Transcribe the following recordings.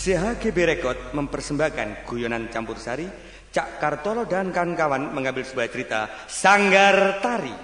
CHGB Record mempersembahkan guyonan campur sari. Cak Kartolo dan kawan-kawan mengambil sebuah cerita Sanggar Tari.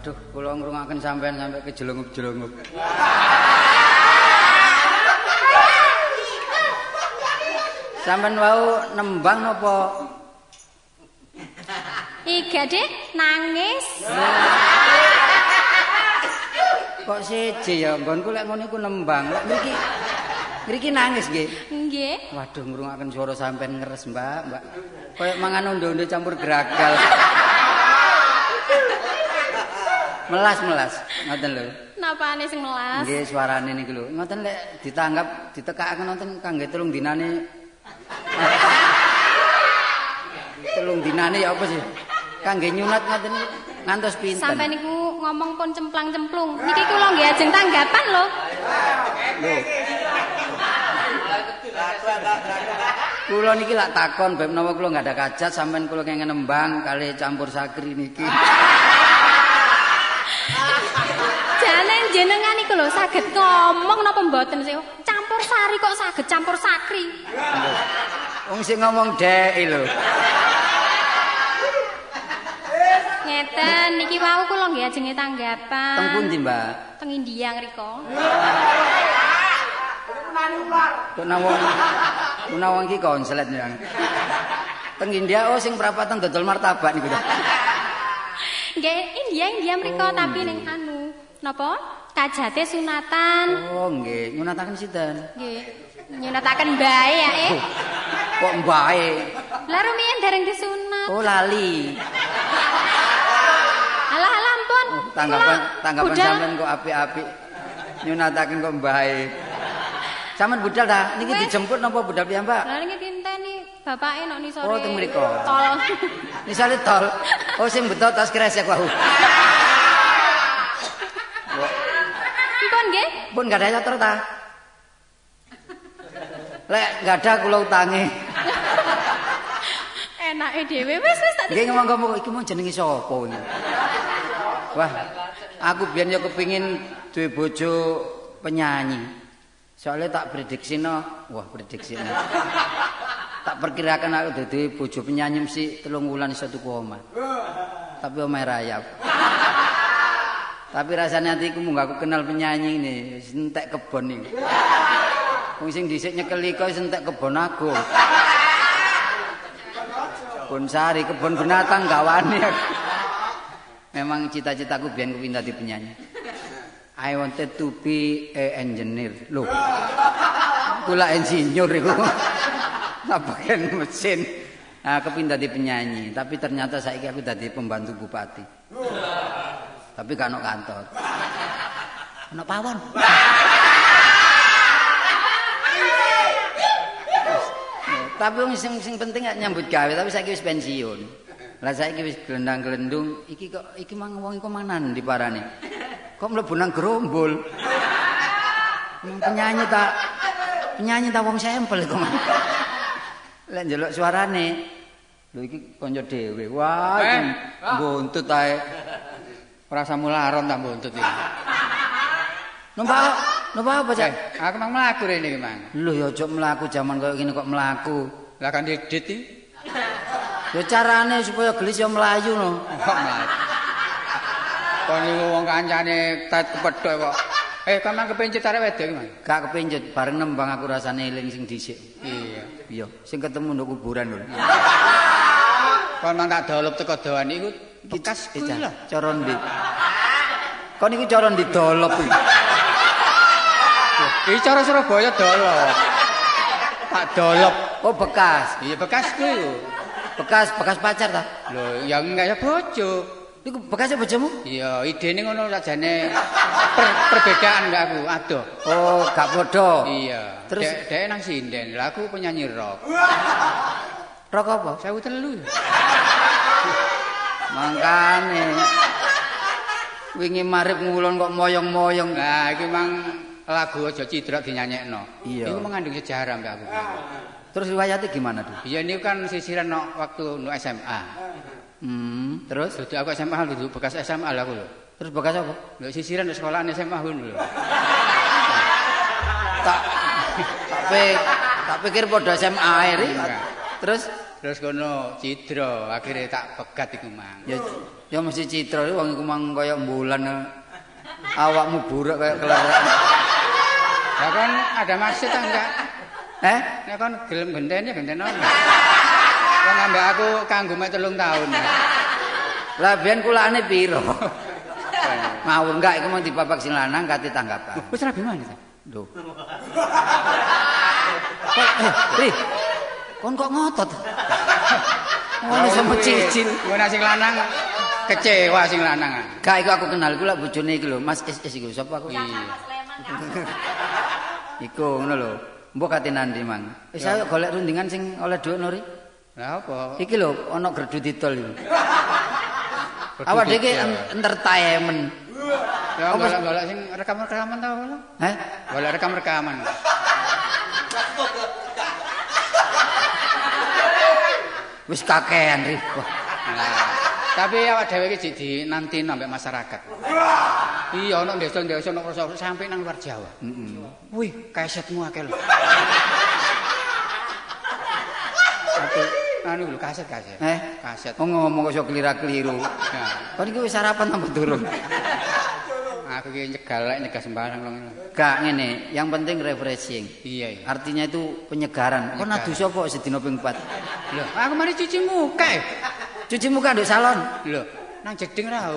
Waduh, kula ngrungokaken sampean sampai kejelungup-jelungup. Sampean wau nembang napa? Iga Dek, nangis. Kok siji ya nggonku lek ngono iku nembang. Lek mriki nangis nggih. Nggih. Waduh ngrungokaken swara sampean ngeres, Mbak. Kayak mangan ondo-ondo campur geragal. Melas, ngoten lho. Napane sing melas? Nggih, suarane niku lho. Ngoten lek ditanggap ditekakaken wonten kangge 3 dinane. 3 dinane ya apa sih? Kangge nyunat ngoten ngantos pinten. Sampai niku ngomong pun cemplang-cemplung. Niki kula nggih ajeng tanggapan lho. Lho. Kula niki lak takon bab menawa kula enggak ada kajat sampean kula kenging nembang kali campur sakri niki. Jane jenengan iku lho saged ngomong napa mboten sih? Campur sari kok saged campur sakri. Wong sing ngomong dhek lho. Ngeten niki wau kula nggih ajenge tanggapan. Teng pundi, Mbak? Teng India ngriko. Kuna wong iki konslet ya. Teng India sing prapatan dodol martabak niku. Nggih, India mriko tapi ning anu. Napa? Kajate sunatan. Oh, nggih, nyunataken sinten? Nggih. Nyunataken mbae ya, Kok mbae? Lah rumiyin dereng disunat. Oh, lali. Alah ampun. Tanggapan sampean kok apik-apik. Nyunataken kok mbae. Sampeyan budal ta? Niki dijemput napa budal piyambak? Lah niki dinteni bapake nok nisore. Oh, teng mriko. Tol. Misale tol. Oh, sing beto tas kresek wae. Mpun nggih? Pun enggak ada nyotor ta? Lek enggak ada kula utangi. Enake dhewe wis tak. Nggih ngomong iki mau jenenge sapa iki? Wah, aku biyen ya kepengin duwe bojo penyanyi. Soalnya tak prediksino, tak perkirakan aku dadi bojo penyanyi mesti 3 wulan iso tuku omah. Tapi omah rayap. Tapi rasanya hatiku munggah aku kenal penyanyi ini, entek kebon iki. Wong sing dhisik nyekeli kok entek kebon agung. Kebon sari, kebon binatang gawane. Memang cita-citaku biyen kepengin dadi penyanyi. I wanted to be a engineer. Loh. Kula insinyur iku. Nabaken mesin. Nah, kepengin dadi penyanyi, tapi ternyata saiki aku dadi pembantu bupati. Tapi gak ono kantor. Ono pawon. Tapi wong sing penting gak nyambut gawe, tapi saiki wis pensiun. Lah saiki wis glendang-glendung, iki mang wong iku manan diparani. Kok mlebu nang gerombol. Penyanyi ta wong sampel iku. Lek ndelok suarane. Lho iki kanca dhewe. Wah, mbuntut ae. Ora samularon ta mbuntut iki. Numpak apa, Cak? Aku mang mlaku rene iki, Mang. Lho ya aja mlaku jaman koyo ngene kok mlaku. Lah kan didit iki. Ya carane supaya gelis ya mlayu no. Kok mlayu. Kon niku wong kancane tet kepethuk kok. Kon mang kepencet arek wedok iki, Mang. Gak kepencet, bareng nembang aku rasane eling sing dhisik. Iya. Iya, sing ketemu nduk kuburan lho. Kon mang tak dolop teko dawan iku bekas kuwi lho. Cara ndi? Kon iku cara ndi dolop iki? Iki cara Surabaya dolop. Tak dolop. Oh, bekas. Iya bekas kuwi lho. Bekas pacar ta? Lho, ya enggak ya bojo. Iku bekasnya bojomu? Iya, idene ngono sajane perbedaan enggak aku, adoh. Oh, gak podo. Iya. Terus dek nang sinden, lah aku penyanyi rock. Rock apa? 1003. Mangkane. Wingi marip ngulon kok moyong-moyong. Nah, iki mang lagu aja cidrak dinyanyekno. Iya. Iku mengandung sejarah mbak aku. Terus riwayatnya gimana tuh? Iya ini kan sisiran no, waktu no SMA. Terus? Duduk aku SMA duduk bekas SMA lah aku lho. Terus bekas apa? Lho sisiran di sekolahan SMA aku lho. Tak pikir podo SMA air. Terus? Terus kono cidra, akhirnya tak pegat iku mang. Ya mesti citra wong iku mang kaya bulan. Awakmu burak kaya kelerak. Lah kan ada maksud ta enggak? Nek kon gelem genteni genteni ono. Kon ambek aku kanggo mek 3 tahun. Lah biyen kulane piro? Ngawur enggak iku mau dipapak sing lanang kate tanggapan. Wis rabi mana ta? Lho. Ri. Kon kok ngotot? Ngono sama cicil. Ngono sing lanang kecewa sing lanang. Gak iku aku kenal iku lak bojone iki lho, Mas SS iku sapa aku? Iku ngono lho. Mbok kate nandi mang. Wis ayo golek rundingan sing oleh dhuwit Nuri. Lah apa? Iki lho ana gerdu didol iku. Awak dhewe iki entertainment. Ya golek sing rekam-rekaman ta apa? Heh? Golek rekam-rekaman. Wis kakean Ri. Tapi awak dhewe iki dinanti ambek masyarakat. Iya ana desa-desa ana pelosok sampe nang luar Jawa. Wih, kasetmu akeh lho. Anu lho kaset. Kaset. Ngomong kok iso kelira-keliru. Kon iki wis sarapan apa durung? Aku iki nyegah sembarang lho. Gak ngene, yang penting refreshing. Iya. Artinya itu penyegaran. Kon adu sapa sedina ping 4? Lho, aku mari cuci muka. Cuci muka nduk salon. Lho, nang jeding ra.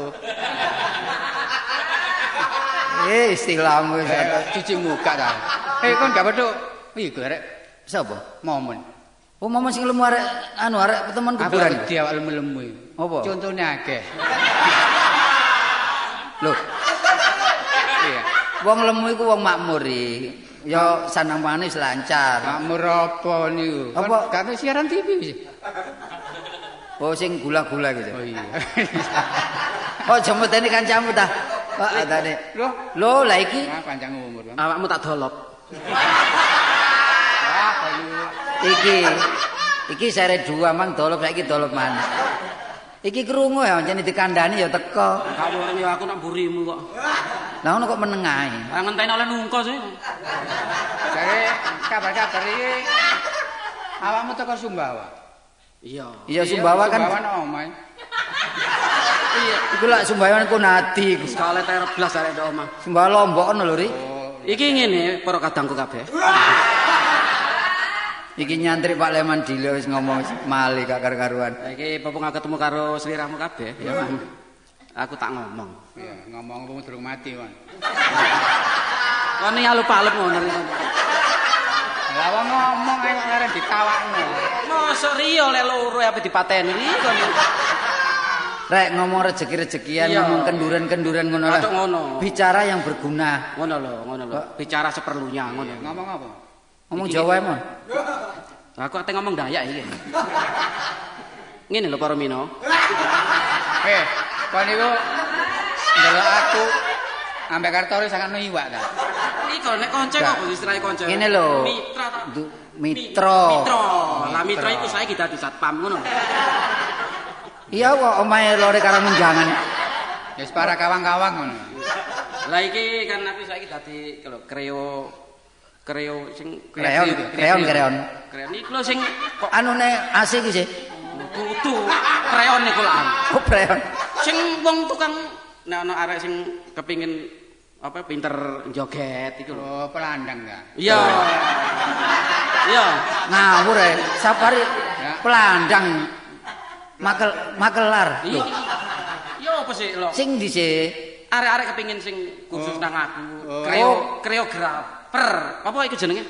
Istilahmu cuci muka ta. Kon gak petuk. Iku arek sapa? Momen. Oh, momen sing lemu arek arek temen kuburan. Aku dia awak lemu-lemu. Apa? Contone akeh. Lho. Iya. Wong lemu iku wong makmur iki. Ya sanang pangane wis lancar. Makmur apa niku? Apa gak siaran TV sih? Oh, sing gula-gula gitu. Oh iya. Oh, jemputane kancamu ta? Kok atane? Lho, lah iki panjang umur. Awakmu tak dolop. Iki sere 2 mang dolop saiki dolop maneh. Iki krungu ya pancen dikandani ya teko. Gak woreng ya aku nak mburimu kok. Lah ngono kok menengae. Ah ngenteni oleh nungko sih. Jare kabar-kabar iki awakmu teko Sumbawa. Iya. Iya Sumbawa kan. Sumbawa nang omah. Iya, iku lak Sumbawa ku nadi. Sekali ter blas arek ndok omah. Sumbawa Lombok ono lho, Ri. Iki ngene para kadangku kabeh. Iki nyantri Pak Leman Dilo wis ngomong mali gak karu-karuan. Iki popong ketemu karo sliramu kabeh. Ya. Aku tak ngomong. Iya, ngomong apa durung mati, Wan. Kon iki alup-alup ngono. Lah wong ngomong ae kok arep ditawakno. Mosok riyo lek loro ape dipateni iki kon. Rek ngomong rezeki-rezekian, ngomong kenduran-kenduran ngono lah. Bicara yang berguna. Ngono lho. Bicara seperlunya ngono. Ngomong apa? Ngomong Jawa emang. Aku ate ngomong Dayak iki. Ngene lho para mino. Kon niku ndelok aku ambek Kartori sangat iwak ta. Iku nek kanca kok istilahnya kanca. Ngene lho. Mitra ta? Mitra. Lah mitra iku saiki dadi satpam ngono. Iya kok omahe lore karo menjangan. Ya para kawang-kawang ngono. Lah iki kan aku saiki dadi kreo sing kreon. Kreon iku lho sing kok anune AC iki sih. Kudu kreon iku lah. Oh, kreon. Sing wong tukang nek ana arek sing kepingin apa pinter joget iku lho. Oh, pelandang ta. Iya. Iya. Ngawur ae. Sapari pelandang makelar. Iya. Yo apa sih lho? Sing dhisik arek-arek kepingin sing khusus nang aku. Kreografer. Apa iku jenenge?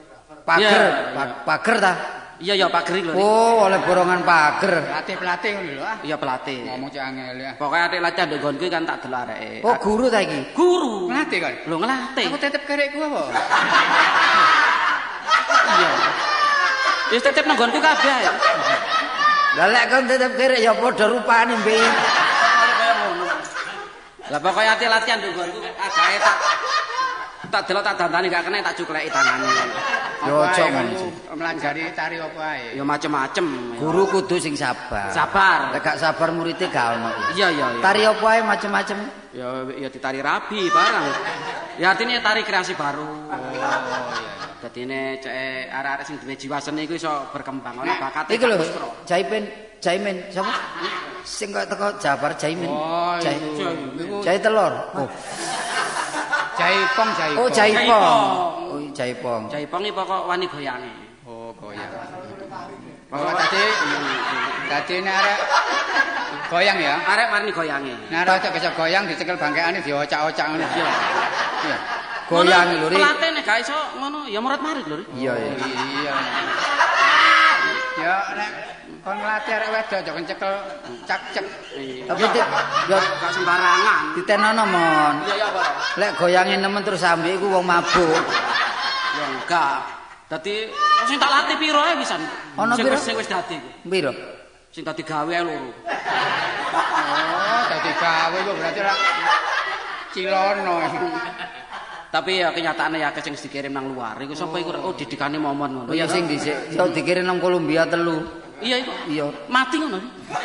Pager ta? Iya ya pager lho. Oh, oleh borongan pager. Pelatih ngono lho. Iya pelatih. Ngomong cek angel ya. Pokoke atik latihan ndok nggonku kan tak delok areke. Oh, guru ta iki? Guru. Ngelatih kan? Lho ngelatih. Aku tetep kerekku apa? Iya. Wis tetep nang nggonku kabeh. Lah lek kon tetep kerek ya padha rupane mbek. Lah pokoke atik latihan ndok nggonku agae tak delok tak dandani gak kena tak cukleki tangane. Yo ojo ngono. Melajari tari apa ae. Ya macem-macem. Guru kudu sing sabar. Sabar. Lek gak sabar muridé gak ono. Iya. Tari apa ae macem-macem. Ya ditari rabi barang. Ya artinya tari kreasi baru. Oh iya. Dadine cek arek-arek sing duwe jiwa seni iku iso berkembang ana bakate. Iku lho, Jaimin sapa? Sing kok teko Jabar Jaimin. Oh, Jai telur. Oh. Jaipong. Oh, Jaipong. Oh, Jaipong. Jaipong iki pokok wani goyange. Oh, goyang. Oh, tadi ini arek goyang ya? Arek warni goyange. Nah, arek bisa goyang dicekel bangkeane diocak-ocak ngono. Iya. Goyang lho, Ri. Pelatih nek gak iso ngono ya murat marit lho, Ri. Iya. Ya nek kon nglatih arek wedok aja kencekel cak-cek. Tapi ya Gak sembarangan. ditenono mon. Iya apa? Lek goyange nemen terus ambek iku wong mabuk. Ya enggak. Dadi sing tak latih piro ae pisan. Ono piro? Sing wis dadi iku. Piro? Sing dadi gawe ae loro. Oh, dadi gawe kok berarti ora cilono. Tapi ya kenyataannya ya sing dikirim nang luar iku sapa iku oh didikane momon ngono. Oh ya sing dhisik yo dikirim nang Kolombia 3. Iya iku. Iya. Mati ngono.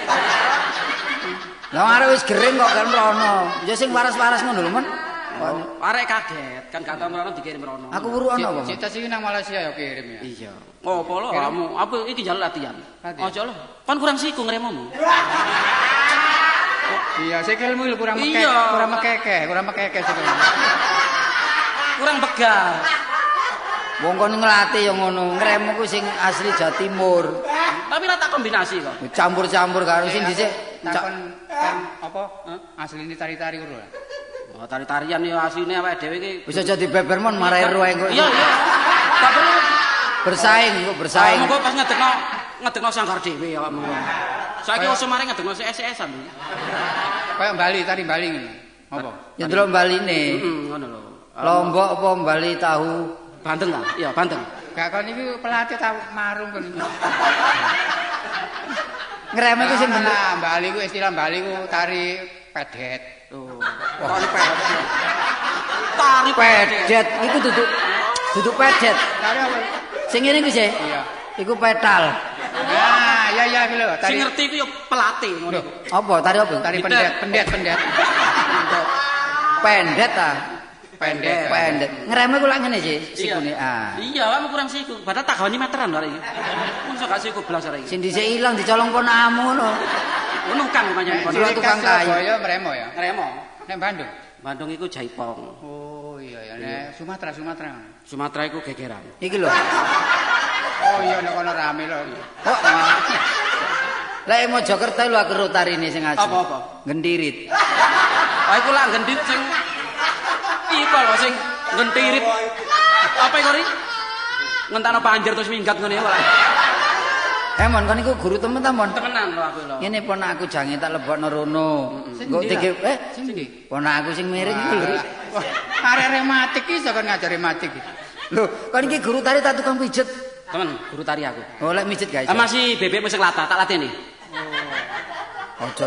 Lah arek wis gering kok kan rono. Ya sing waras-waras ngono lho, Mon. Arek kaget kan gak tau merono dikirim merono. Aku wuru ono apa? Cita sih nang Malaysia ya kirim ya. Iya. Apa lho kamu? Apa iki jaluk latihan? Aja lho. Kan kurang siku ngremomu. Iya, sikilmu kurang mekek, kurang mekeke sikilmu. Kurang begar. Wong kon nglatih ya ngono, ngremmu ku sing asli Jawa Timur. Tapi rata kombinasi kok. Campur-campur karo sing dhisik. Takon kan apa? Asline tari-tari ngono lho. Oh, tari-tarian ya asline awake dhewe iki. Wis aja dibeber mon marai ruwe kok. Iya. Tak perlu Bersaing kok bersaing. Monggo pas ngedekno sanggar dhewe awakmu. Saiki wis mari ngedekno SS-an. Kayak Bali, tari Bali ngene. Apa? Ya delok baline. Ngono lho. Lombok apa Bali tahu? Banten lah. Iya, Banten. Gak kon iki pelatih ta marung kon. Ngreme ku sing bener. Bali ku istilah Bali ku tari pedet. Oh. Tari pedet. Tari Pedet iku duduk pedet. Tari apa? Sing ngene ku sih. Iya. Iku petal. Nah, iya iki lho, Sing tari ngerti ku ya pelatih ngono. Apa? Tari apa? tari pendet. Pendet ta. Pendet. Ngreme ku lak ngene sih sikune. Ah. Iya, kamu kurang siku. Padahal tak gawani meteran lho iki. Mosok gak siku blas arek iki. Sing dhisik ilang dicolong ponamu ngono. Ngono kang pancen Dua tukang kayu. Surabaya Mremo ya. Ngremo. Nek Bandung. Bandung iku Jaipong. Oh iya ya, nek Sumatera. Sumatera iku gegeran. Iki lho. Oh iya nek kono rame lho. Kok Lah Mojokerto lho aku tarine sing asli. Apa-apa? Gendirit. Ah iku lak gendit sing iku lho sing gentirit. Apa iku ri? Ngentakno panjer terus minggat ngene wae. Mon kon iku guru temen ta mon? Temenan lho aku lho. Ngene ponakku jange tak lebokno rono. Engko dike Sing ndi? ponakku sing miring iki lho. Wah, arek rematik iso kan ngajari rematik. Lho, kon iki guru tari tak tukang pijet. Temen, guru tari aku. Oh, lek mijet guys. Masih bebek sing latah, tak latih nih. Ojo.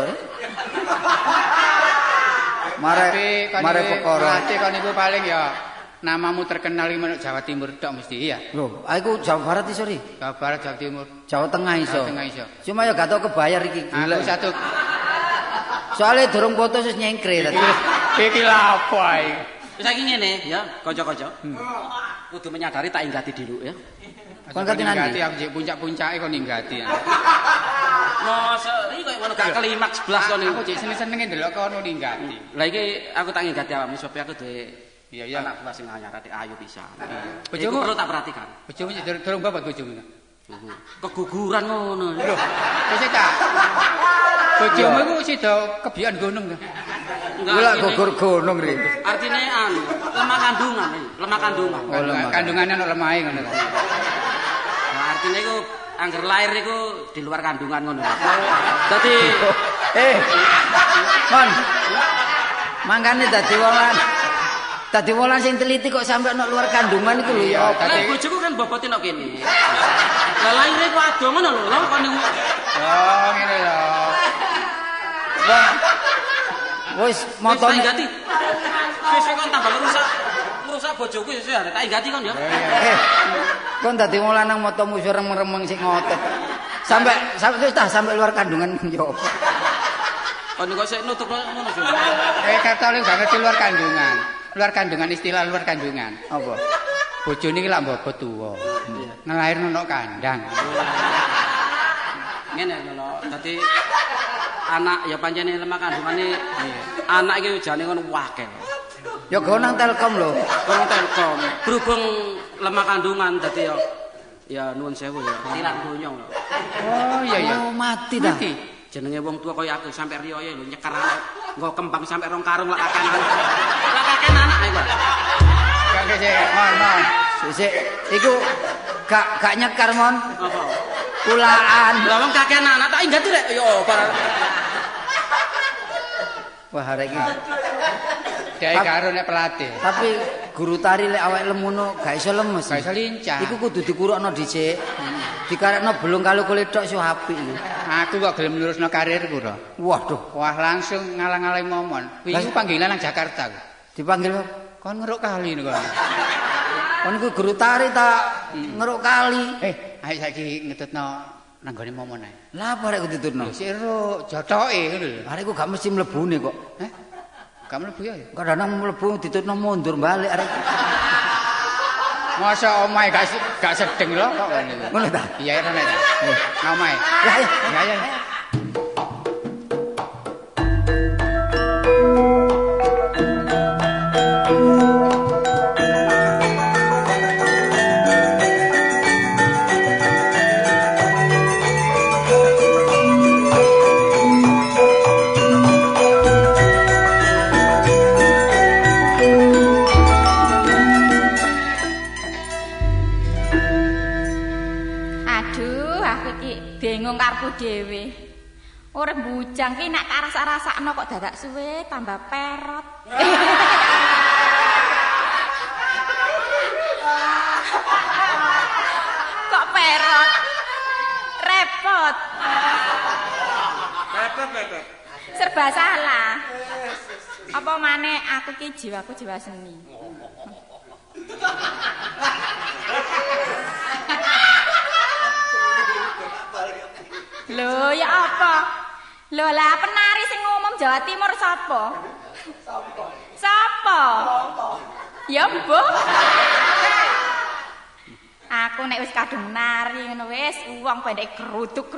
Mare perkara. Berarti kon iku paling ya namamu terkenal di Jawa Timur tok mesti iya. Lho, aku Jawa Barat iso ri. Jawa Barat, Jawa Timur, Jawa Tengah iso. Jawa Tengah iso. Cuma ya gak tau kebayar iki. Aku satu. Soale durung foto wis nyengkre tadi. Iki lha apa iki? Saiki ngene ya, kanca-kanca. Kudu menyadari tak inggati dulu ya. Kon kate nanti. Aku jek puncak-puncake kon ninggati. Mosok iki koyo ngono gak klimaks blas kon Aku iki. jek seneng-senenge ndelok kono ninggati. Lah iki aku tak inggati awakmu supaya aku duwe Iya. anak buah sing anyar adik ayu pisan. Bojomu Iku perlu tak perhatikan. Bojomu durung babat bojomu. Keguguran ngono. Lho, wis ta. Bojomu iku sida kebian gunung ta. Gula gugur gunung ri. Artine anu, lemah kandungan iki, lemah kandungan. Oh, lemah. Kandungane ana lemahe ngono ta. Nah, artine iku angger lahir iku di luar kandungan ngono. Dadi Mon. Mangkane dadi wong sing teliti kok sampe ana luar kandungan iku lho ya. Lah bojoku kan bobote nek kene. Lah lahir iku ado ngono lho, lho kon niku. Oh, ngene lho. Wis motone inggati. Sesuk kon tambah rusak bojoku sesuk arek tak inggati kon ya. kon dadi wong lanang motomu iso remeng-remeng sing ngotot. Sampai wis tah sampai luar kandungan yo. Kon niku sik nutup ngono sih. Kata lu gak ngerti luar kandungan. Luar kandungan istilah luar kandungan. Apa? Bojone iki lak mbobot tuwa. Ngelairno nang kandang. Ngene lho, dadi anak ya pancene lemah kandungane anak iki jane ngono akeh. Ya go nang Telkom lho. Wong Telkom berhubung lemah kandungan dadi ya nuwun sewu ya tilang donya lho. Oh iya. Oh mati dah. Jenenge wong tua kaya aku sampe riyo lho nyekar anak nggo kembang sampe rong karung lak kakenan. Lak kakenan anak iku. Kakek sik mon. Sik iku gak nyekar mon. Apa? Kulaan. Lah wong kakenan anak tak ingat rek yo barang. Wah arek iki. Dhewe karo nek pelatih. Tapi guru tari lek awake lemono gak iso lemes. Gak iso lincah. Iku kudu dikurukno dhisik. Dikarekno belung kali kulit tok iso apik iki. Aku kok gelem nerusno karirku to. Waduh, Wah langsung ngalang-alang momon. Wingi panggilan nang Jakarta. dipanggil Kon ngeruk kali niku. kon iku guru tari ta ngeruk kali. Ayo saiki ngetutno nang gone momon ae. Lah apa arek ditutno? Siro jotoke ngono lho. Arek iku gak mesti mlebune kok. Gak mlebu ya. Kadang mlebu ditutno mundur balik arek. Masa omahe gak sedeng lho kok ngene. Ngono ta? Iya rene. Omahe. Ya. Ya. Bingung karepku dhewe. Urip bujang ki nek karasa-rasakno kok dadak suwe tambah perot. Kok perot? Repot. Repot. Serba salah. Apa maneh aku ki jiwaku jiwa seni. Lho ya apa? Lho lah penari sing umum Jawa Timur sapa? Sapa? Ya mbok. Aku nek wis kadung nari ngono wis wong pendek kerutuk.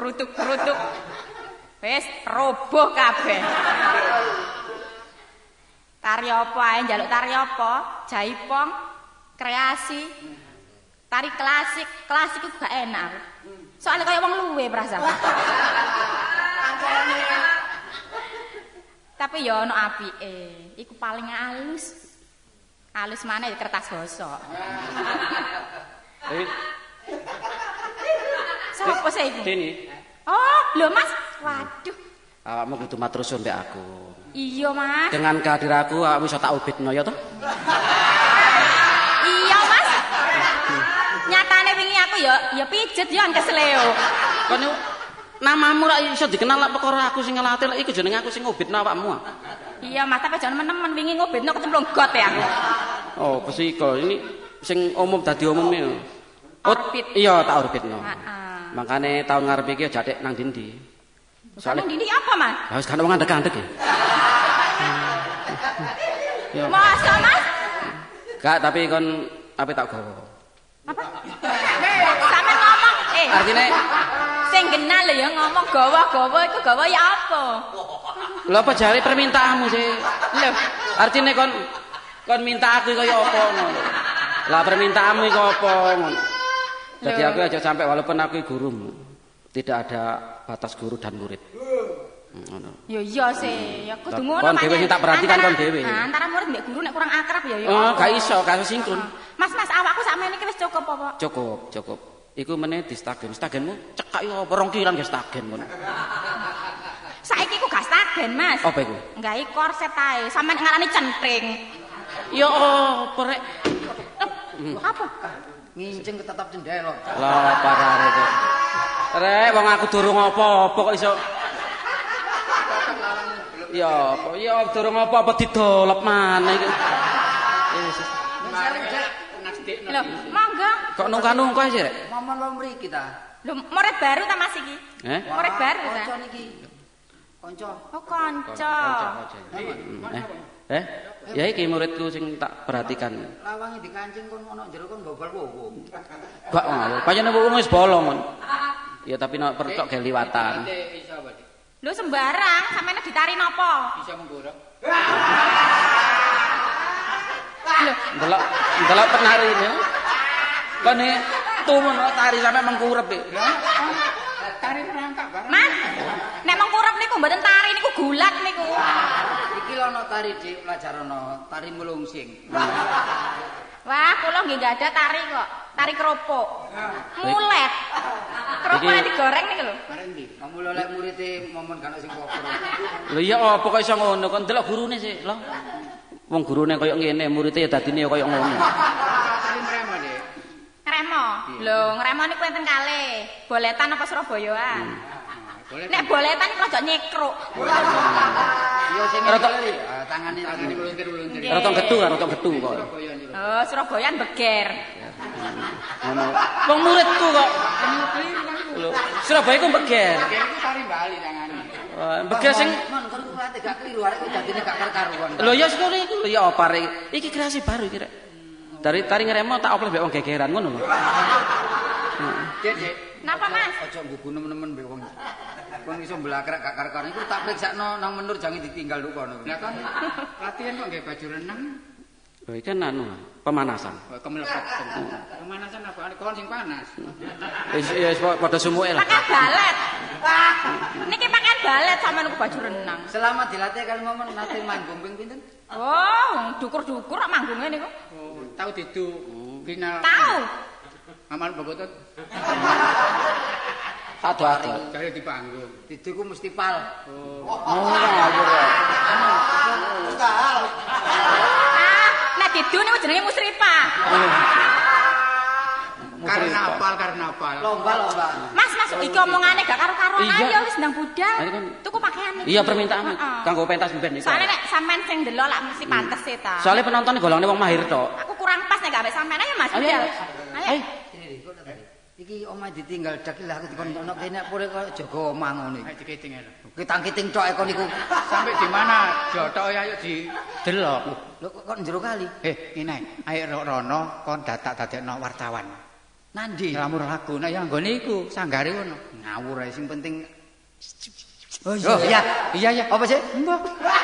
Wis roboh kabeh. Tari apa ae njaluk tari apa? Jaipong, kreasi, tari klasik. Klasik itu gak enak. Soalnya kayak wong luwe perasaan. Tapi ya ono apike. Iku paling halus. Halus mana ya kertas gosok. Sopo sih iku? Dini. Oh, lho Mas. Waduh. Awakmu kudu matur suwun mbek aku. Iya, Mas. Dengan kehadiranku awakmu iso tak ubitno ya to? Iya, Mas. Nyatane wingi aku ya pijet ya kesleo. Kon namamu ra iso dikenal lak perkara aku sing ngelatih lak iku jenenge aku sing ngobitno awakmu. Iya, Mas, tapi jangan menemen wingi ngobitno kecemplung got ya aku. Oh, pesiko ini sing umum dadi umum ya. Orbit. Iya, tak orbitno. Heeh. Makane tahun ngarep iki aja dek nang ndi-ndi. Soale ndi apa, Mas? Ya wis kan wong andek-andek ya. Ya. Masa, Mas? Gak, tapi kon ape tak gawa. Apa? Sampe ngomong, Artine sing kenal lho ya ngomong gawa-gawa iku gawa ya apa? lho apa jare permintaanmu sih? Lho, Artine kon minta aku kaya apa ngono. Lah permintaanmu iku apa ngono. Jadi aku aja sampai walaupun aku gurumu, tidak ada batas guru dan murid. Ngono. ya iya sih, ya kudu ngono. Kon dhewe sing tak perhatikan kon dhewe. Nah, antara murid mbek guru nek kurang akrab ya ya. Oh, gak iso, gak iso sinkron. Mas, awakku sakmene iki wis cukup apa? Cukup. Iku meneh di stagen. Stagenmu cekak yo apa rong kilan ge stagen ngono. Saiki ku gak stagen, Mas. Apa iku? Nggae korset ae, sampean ngarani centring. Ya apa rek? Apa? Ngincing ketetap cendelo. Lah parare kok. Rek wong aku durung apa-apa kok iso. Ya apa? Ya durung apa-apa didolep maneh iki. Lho, monggo. Kok nungka-nungka sih rek? Momon wae mriki ta. Lho, murid baru ta Mas iki? Eh? Murid baru ta? Ojo niki. Kanca. Oh, kanca. Ya iki muridku sing tak perhatikan. Lawange dikancing kon ono jero kon bobol wowo. Gak ngono. Pancene wong wis bolong kon. Ya tapi nek percok ge liwatan. Lho sembarang, sampeyan ditari napa? Bisa menggorok. Lho, Delok penarine. Kene tumun tari sampe mengkurep iki. Tari merangkak bareng. Mas. Nek mengkurep niku mboten tari niku gulat niku. Iki lho ono tari Dik, pelajarana tari mulungsing. Wah, kula nggih enggak ada tari kok. Tari keropok. Mulet. Keropoknya digoreng niku lho. Bareng ndi? Kamu lek murid-e momon kan sing popor. Lho iya apa kok iso ngono kon delok gurune sih lho. Wong gurune koyo ngene, muridé ya dadine koyo ngono. Tari mremo, Dik. Ngremo. Lho, ngremo niku enten kalih. Boletan apa Surabayaan? Nek boletan niku aja nyekruk. Yo sing ngene tangane Meluntir-meluntir. Rata getu kan, rata getu kok. Oh, Surabayaan beger. Ngono. Wong muridku kok. Lho, Surabaya ku beger. Beger iku tari Bali tangane. Beger sing mon kon kurate gak kliru arek dadine gak karuan. lho ya ngono iku lho ya apa rek. Iki kreasi baru iki rek. Dari tari ngremo tak oples mbek wong gegeran ngono lho. Dek. Napa, Mas? Aja nggugu nemen-nemen mbek wong. Kon iso mblakrek gak karuan iku tak priksakno nang menur jangan ditinggal lu kono. Lah kon latihan kok nggih baju renang. Lho iki kan anu pemanasan. Kemelebet. Pemanasan apa? Kon sing panas. Ya padha sumuke lah. Pakai balet. Wah, niki pakai balet sampean niku baju renang. Selama dilatih kali momen nate manggung ping pinten? Oh, dukur-dukur kok manggunge niku. Oh, tahu didu final. Tahu. Amal bobotut. Ado-ado. Jare di panggung. Didu ku mesti pal. Ah, nek didu niku jenenge musrifah. Karnaval. Lomba. Mas, iki omongane gak karo-karuan Iya. ayo wis ndang budal. Ayo kan. Tuku pakaian iki. Iya permintaan Heeh. kanggo pentas ben iki. Soale nek sampean sing ndelok lak mesti pantes e ta. Soale penonton golongne wong mahir tok. Aku kurang pas nek gak ambek sampean ayo Mas Ayo, budal. ayo. Iki omah ditinggal dak lah aku dikon ono kene pure kok jaga omah ngono iki. Ayo diketing ae. Kitang-kiting tok kon niku. Sampai di mana? Jotok ayo di delok. Lho kok njero kali. Ngene ae. Ayo Rono kon dadekno wartawan. Nandi. Nglamur lagu. Nek ya nggone iku sanggare ngono. Ngawur ae sing penting. Oh iya. Iya. Apa sih? Mbok.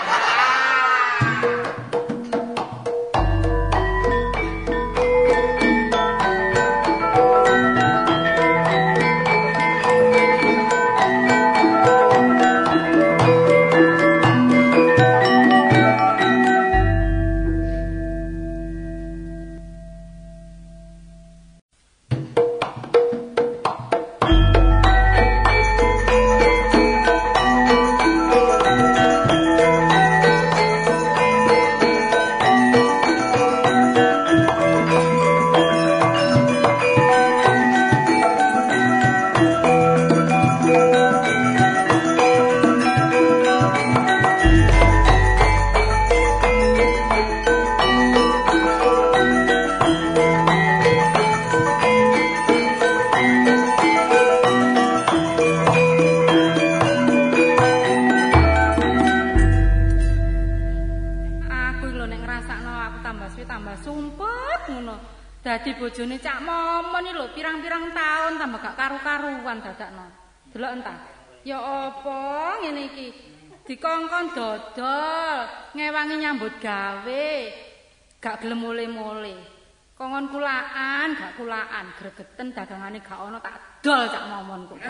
Dadi bojone Cak Momon iki lho pirang-pirang taun tambah gak karu-karuan dadakno. Delok entah. Ya apa ngene iki? Dikongkon dodol, ngewangi nyambut gawe. Gak gelem mule-mule. Kongkon kulaan, gak kulaan, gregeten dagangane gak ono tak dol Cak Momon kok.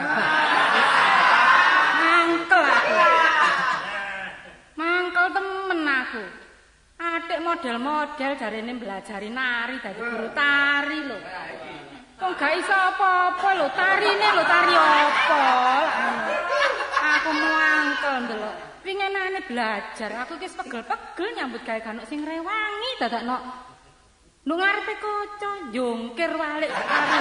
Mangkel aku. Mangkel temen aku. Adik model-model jarene belajari nari dadi guru tari lho. Kok gak iso apa-apa lho, tarine lho tari apa. Aku mangkel ndelok. Pinginane belajar, aku ki pegel-pegel nyambut gawe kanuk sing rewangi dadakno. Nduk ngarepe kaca jongkir walik karo.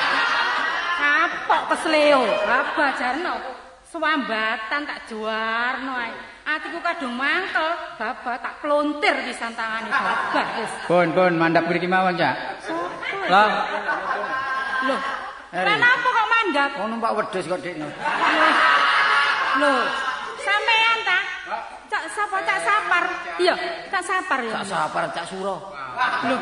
Kapok kesleo, apa jarno. Swambatan tak juarno ae. Atiku kadung mangkel, babah tak plontir pisan tangane babah wis. Pun mandap mriki mawon, Cak. Lah. Loh. Kenapa kok mandap? Oh numpak wedhus kok Dik. Loh. Sampeyan sapa Cak Sapar? Iya, Cak Sapar ya. Cak Sapar, Cak Suro. Loh.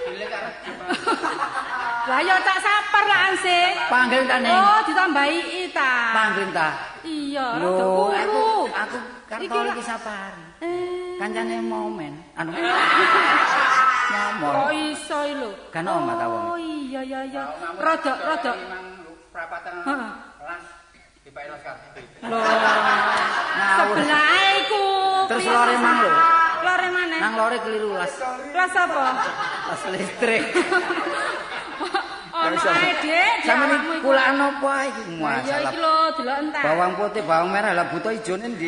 Lah ya Cak Sapar lah ansih. Panggil ta ning. Oh, ditambahi I ta. Panggil ta. Iya, rada Loh, kuru. aku Kartolo iki Sapar. Kancane momen. Anu. Ngomong. Kok iso lho? Kan omah ta wong. Oh iya iya iya. Rada Prapatan Heeh. kelas dipake los kabeh. Loh. Ngawur. Sebelah iku. Terus lore mang lho. Lore mana? Nang lore keliru las. Kelas apa? Las listrik. Ono ae, Dik. Sampeyan kulaan apa iki? Ya Masalah. iki lho, delok entar. Bawang putih, bawang merah, lah buta ijone ndi?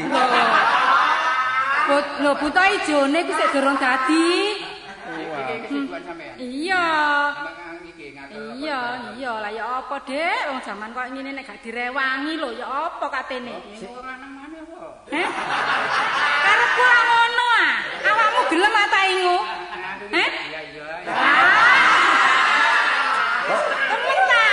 Lho, buta ijone ku sik durung dadi. Kesibukan sampean. Iya. Sampeyan iki ngatur. Iya, lah ya apa, Dik? Wong jaman kok ngene nek gak direwangi lho, ya apa katene? Ora nang mana apa? Heh? Karepku ora ngono ah. Awakmu gelem ta ingu? Heh? Iya iya. Temen ta?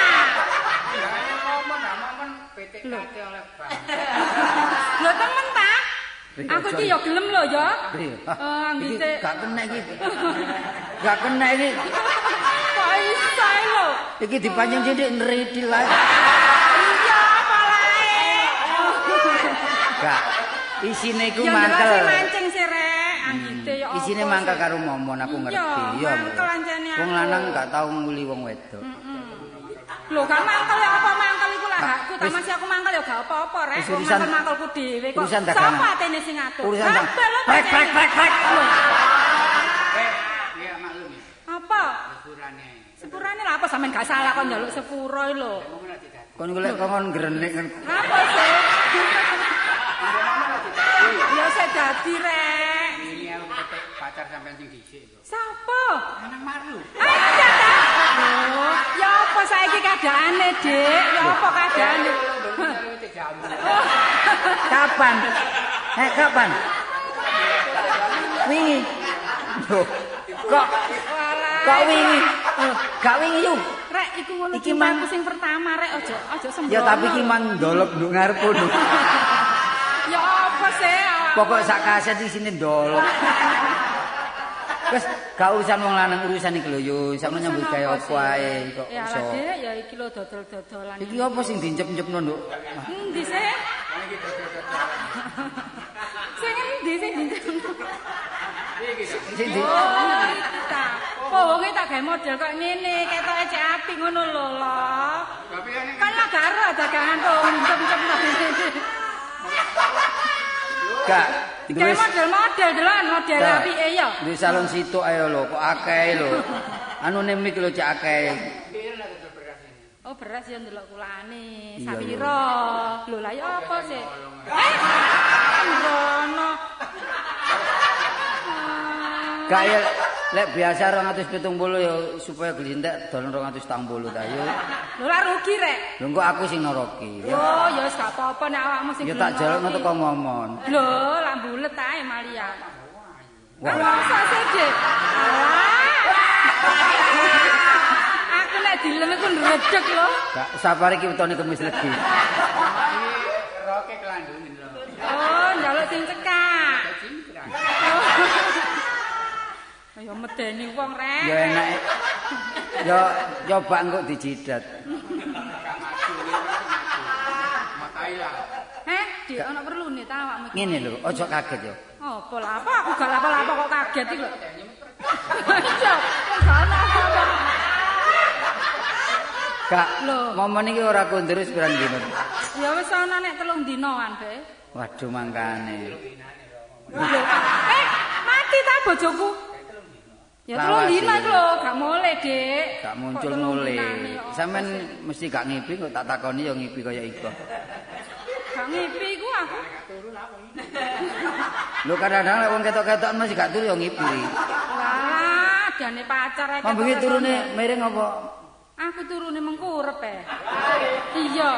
Momen PTKT oleh Bang. Lho temen ta? Aku iki ya gelem lho ya. Iki Anggite gak kena iki. Gak kena iki. kok iso lho. Iki dipanjang sithik nridil ae. Iya apa lae. Gak. Isine iku Ya mangkel. jelas mancing sih rek. Anggite ya apa. Isine mangkel karo momon aku ngerti. Iya, mangkel ancene aku. Wong lanang gak tau nguli wong wedok. Lho gak mangkel ya apa mangkel iku lah hakku ta masih aku mangkel ya gak apa-apa rek. Wis Wong urusan- mangkelku dhewe kok. urusan dagangan. Sapa atene sing ngatur? Urusan dak. Kabeh lho, Prek prek prek prek. Iya maklum. Apa? Sepurane. Sepurane lah apa sampean gak salah kok njaluk sepuro lho. Kon golek kongkon grenek. Apa sih? Ya saya dadi rek. Ini aku ketek pacar sampean sing dhisik kok. Sapa? Nang maru. Ada ta? Oh, ya apa saiki keadaane, Dik? Ya apa keadaane? Kapan? Kapan? Wingi. Loh, kok wingi? Gak wingi yo. Rek, iku ngono Iki cintaku sing pertama, Rek. Aja sembrono. Ya tapi ki man ndolop nduk ngarepku. Ya apa sih? Pokok sak kaset di sini ndolop. Wes gak urusan wong lanang urusan iki lho yo, sampe nyambut gawe apa ae kok Ya iso. lah, Dik, ya iki lho dodol-dodolan. Iki apa sing dincep-ncepno nduk? Endi sih? Sing endi sing dincep? Sing di Oh, iki ta. Oh, wonge tak gawe model kok ngene, ketoke cek apik ngono lho, lho. Kan lah garo dagangan tuh encep-encep gak Kayak model-model delokan model apike ya. Di salon situ ayo lho, kok akeh lho. Anu nemik lho cek akeh. Oh beras ya ndelok kulane, Iya, sawira. Lho lah ya apa sih? Sembrono. Gak ya lek biasa 270 ya supaya glintek dolen 280 ta yo. Lho lah rugi rek. Lho kok aku sing noroki. Oh ya wis gak apa-apa nek awakmu sing Ya tak jalukno teko ngomong. Lho lah bulet ae Malia. Wah. Masa sih, Dik? Aku nek dilem iku ndredeg lho. Gak sabar iki wetone kemis legi. Roke kelandungen lho. Oh, njaluk sing cekak. Ayo medeni wong rek. Ya enak. Ya coba engko dijidat. Matai lah. Dik ana perlune ta awakmu iki? Ngene lho, aja kaget ya. Apa lah apa aku gak apa-apa kok kaget iki lho. Iya, kok gak ana apa-apa. Kak, Lho. momen iki ora kondur wis pirang dino. Ya wis ana nek 3 dinoan, Be. Waduh mangkane. Lho, mati ta bojoku? Ya 3 Lawas dino iki. iku lho, gak mulai, Dik. Gak muncul Kok 3 mulai. dinane, ya Sampeyan apa mesti gak ngipi kok tak takoni ya ngipi kaya iku. Gak ngipi iku aku. Lho kadang-kadang lek wong ketok-ketokan mesti gak turu ya ngipi. Lah, dane pacar ae. Mambengi ketok-ketok. turune miring apa? Aku turune mengkurep e. Iya.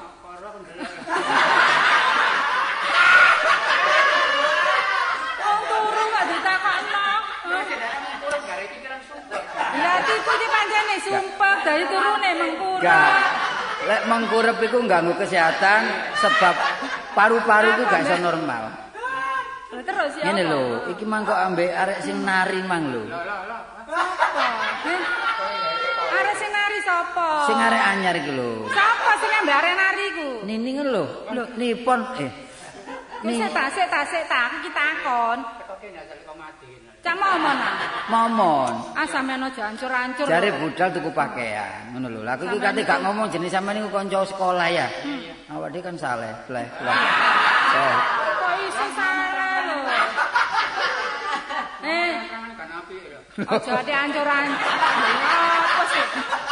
Wong turu kok ditakokno. Ya tipu iki pancene sumpah dari turune mengkurep. Gak. Lek mengkurep iku ganggu kesehatan sebab paru-paru iku gak iso normal. Lho terus ya. Ngene lho, iki mang kok ambek arek sing nari mang lho. Sapa? Arek sing nari sapa? Sing arek anyar iki lho. Sapa sing ambek arek nari ku? Nining lho. Nipon Wis tasik aku iki takon. Cak momon ah. Momon. Ah sampean aja ancur-ancur. Jare budal tuku pakaian, ngono lho. Lah aku iki kate gak ngomong jenis sampean niku kanca sekolah ya. Awak dhewe kan saleh, bleh. Kok iso salah lho. Aja ade ancur-ancur. Apa sih?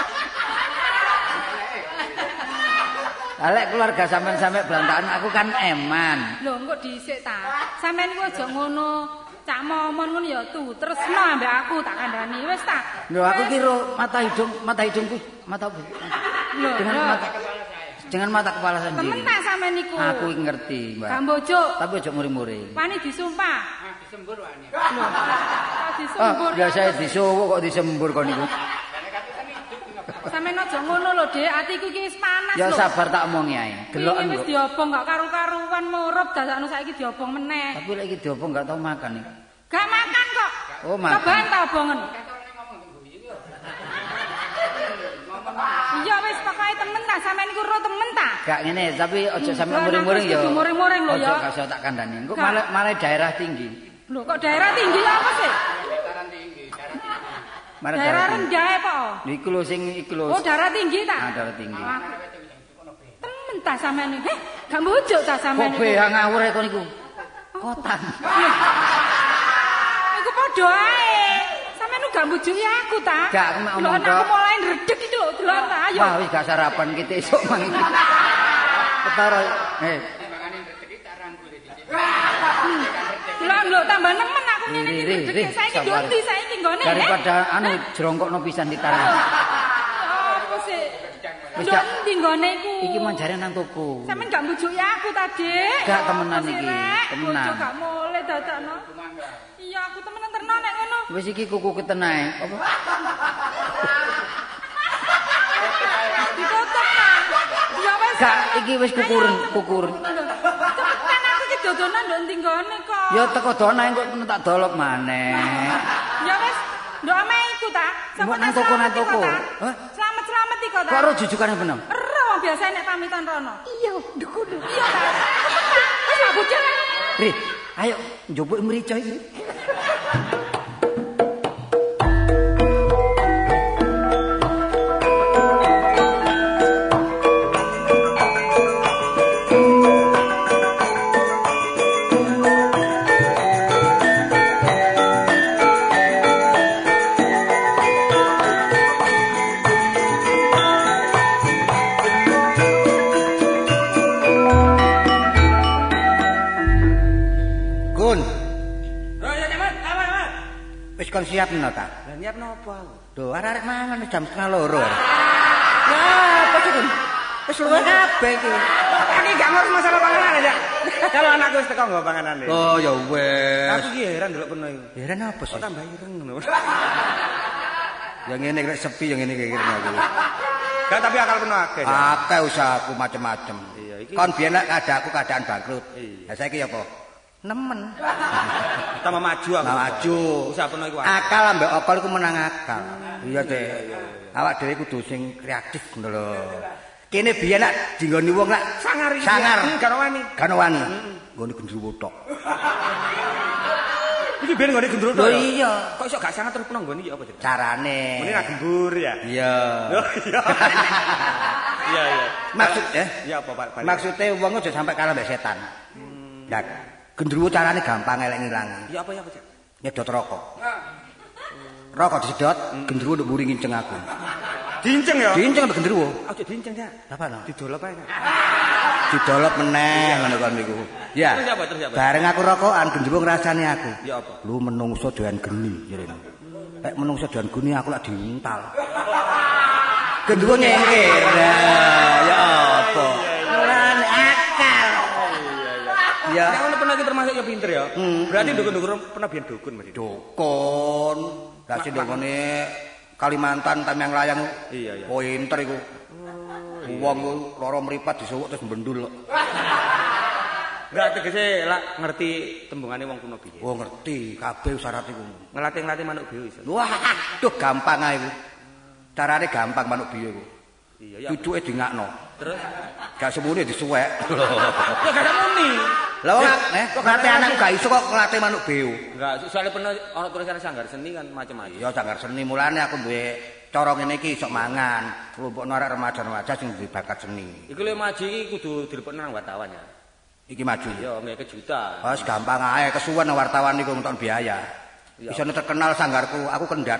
Alek keluarga sampean-sampean belantakan aku kan eman. Lho engko dhisik ta. Sampeyan iku aja ngono. Cak momon ngono ya tresno ambek aku tak kandhani wis ta. Lho aku kira mata hidungku mata dengan mata kepala sendiri. Temen tak sampeyan niku. Aku ngerti, Mbak. Gambojo. Tapi aja muri-muri. Wani disumpah. Disembur wani. Lho. Disembur. Biasa disowok kok disembur kon niku. Sampeyan aja ngono lho, Dik. Atiku iki wis panas lho. Ya sabar tak omongi ae. Deloken wis kok. diobong gak karu-karuan murup dadakno saiki diobong meneh. Tapi lek iki diobong gak tau makan iki. Gak makan kok. Oh, makan. Cobaan ta obongen. Iya wis pokoke temen ta, sampeyan iku ro temen ta. Gak ngene, tapi aja sampe muring-muring ya. Muring-muring lho ya. Aja gak iso tak kandhani. Engko malah daerah tinggi. Lho kok daerah tinggi apa sih? Daerah rendah kok. Niku lho sing iku lho. Oh, daerah tinggi ta? Ah, daerah tinggi. Temen ta sampean iki? Gak mbujuk ta sampean Kok iku? behang ngawur kok niku. Kotan. Iku padha ae. Sampeyan gak mbujuki aku ta? Gak, aku mek omong Aku mulai ndredeg iki lho, delok ta ayo. Wah, wis gak sarapan kita esuk mang iki. Ketara. Lho tambah nemen aku ngene iki. Saiki ndi saiki nggone. Daripada anu jrongkokno pisan ditarang. Apa sih? Wis Lho gak ndi nggone iku? iki manjare nang toko. Sampeyan gak mbujuki aku ta, Dik? Gak temenan iki, temenan. Bojo gak mulai dadakno. Iya, aku temenan terno nek ngono. Wis iki kuku ketenae. Apa? Ditutup ta? Ya wis. Gak iki wis kukuren. Cepetan aku iki dodonan ndok ndi nggone kok. Ya teko donae kok tak dolop maneh. Ya wis, ndok ame iku ta. Mbok nang toko nang toko. Hah? Selamat iku ta. Kok ro jujukane bener? Ero wong biasa nek pamitan rono. Iya, ndekudu. Iya ta. Wis lah bocah. Ri, ayo njupuk mrica iki. Kon siap no ta? Lah niat napa aku? Lho arek mangan jam 1:30. Lah, apa sih kon? Wis luwe kabeh iki. Aku gak ngurus masalah panganan aja. Kalau anakku wis teko nggo panganane. Oh ya wes. Aku ki heran delok peno iku. Heran apa sih? Kok tambah ireng ngono. Ya ngene rek sepi ya ngene kira aku. Gak tapi akal peno akeh. Akeh usahaku macem-macem. Iya iki. Kon biyen nek keadaan bangkrut. Lah saiki ya apa? Nemen. Tambah maju aku. Maju. Usaha peno iku. Akal ambek okol iku menang akal. Iya, Dek. Awak dhewe kudu sing kreatif ngono lho. Kene biyen nak dinggoni wong nak sangar. Gak wani. Gak wani. Nggone gendruwo tok. Iki biyen nggone gendruwo tok. Lho iya. Kok iso gak sangar terus peno nggone iki apa jenenge? Carane. Mene ra gembur ya. Iya. Oh iya. Iya. Maksud ya apa Pak? Maksudnya wong aja sampai kalah mbek setan. Lah, gendruwo carane gampang elek ngilangi. Ya apa Cak? Nyedot rokok. Rokok disedot, gendruwo nduk mburi nginceng aku. Diinceng ya? Diinceng mbek gendruwo. Aja diinceng ya. Apa no? Didolop ae. Didolop meneh ngono kon niku. Ya. Terus apa? Bareng aku rokokan gendruwo ngrasani aku. Ya apa? Lu menungso doyan geni jarene. Lek menungso doyan geni aku lak diuntal. Gendruwo nyengker. Ya apa? Lan akal. Ya. Nek ono pernah iki termasuk ya pinter ya. Berarti dukun-dukun pernah biyen dukun mesti. Dukun. Lah sing ndongone Kalimantan tam yang layang. Iya. Pinter iku. Wong lara mripat disuwuk terus mbendul. Enggak tegese lak ngerti tembungane wong kuno piye. Oh ngerti, kabeh syarat iku. Ngelatih-ngelatih manuk biu iso. Wah, aduh gampang ae iku. Carane gampang manuk biu iku. Iya ya. Cucuke dingakno. Terus Gak semuanya disuwek. kok gak ada muni. Lah kok ngelatih anakku gak iso kok ngelatih manuk biu. Enggak, soalnya pernah ana tulisan sanggar seni kan macam-macam. Ya sanggar seni mulane aku duwe cara ngene iki iso mangan. Kelompok arek remaja-remaja sing duwe bakat seni. Iku lho maji iki kudu dilepokno nang wartawan ya. Iki maju. Iya, mek kejutan. Wes gampang ae kesuwen nang wartawan niku entuk biaya. Iso terkenal sanggarku, aku kendhat.